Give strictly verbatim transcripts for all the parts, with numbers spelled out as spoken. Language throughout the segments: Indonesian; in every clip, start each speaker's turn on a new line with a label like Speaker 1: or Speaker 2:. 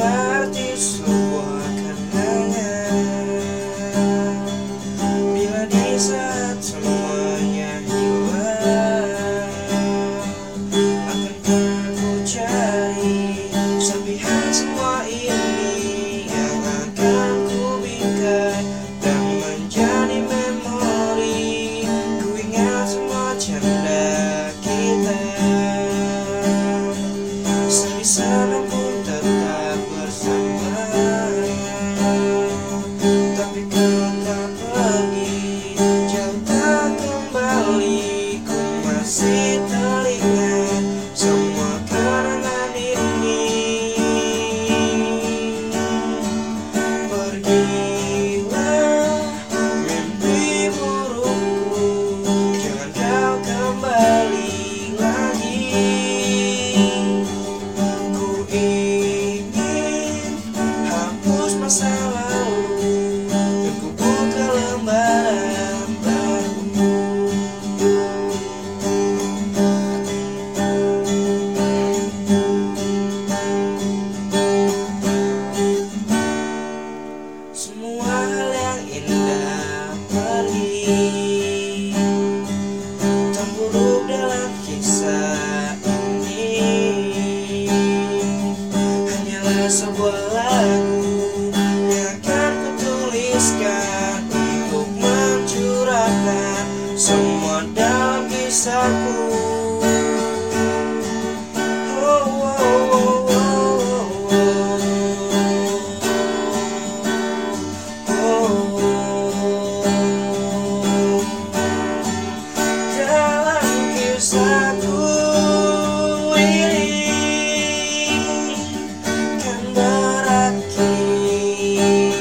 Speaker 1: seperti sebuah kenangan. Bila di saat semuanya hilang, akankah ku cari serpihan semua ini yang akan ku bingkai dan menjadi memori. Ku ingat semua canda kita, sebisa pun tetap bersama. Tapi kau tak pergi, jauh tak kembali. Ku masih teringat semua kenangan ini. Pergilah mimpi burukku, jangan kau kembali lagi. Ku ingin hapus masa lalu dan ku buka lembaran baru. Semua hal yang indah pergi, tak buruk dalam kisah ini hanyalah sebuah lagu yang akan kutuliskan untuk mencurahkan semua dalam kisahku. Oh, oh, oh, oh, oh, oh. Dalam kisahku ini kan berakhir.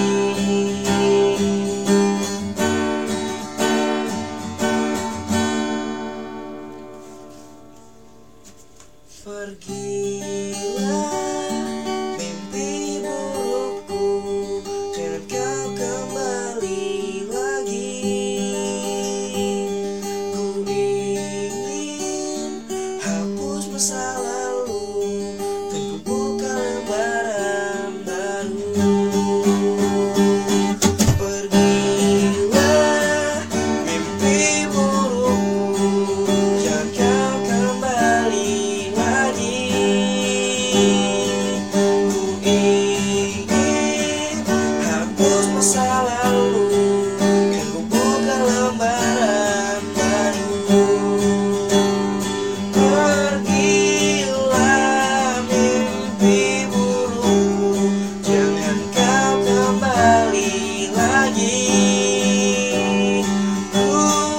Speaker 1: Pergilah mimpi burukku, jangan kau kembali lagi. Ku ingin hapus masa lalu dan ku buka lembaran baru. Pergilah mimpi burukku, jangan kau kembali lagi. Ku ingin hapus masa lalu dan ku buka lembaran baru. Pergilah mimpi burukku, jangan kau kembali lagi. Ku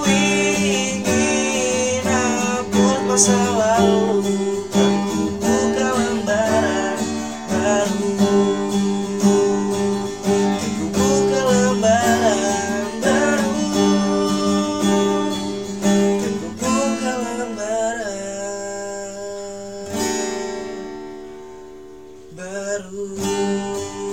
Speaker 1: ingin hapus masa lalu dan ku buka lembaran baru. Dan ku buka lembaran baru. Dan ku buka lembaran baru.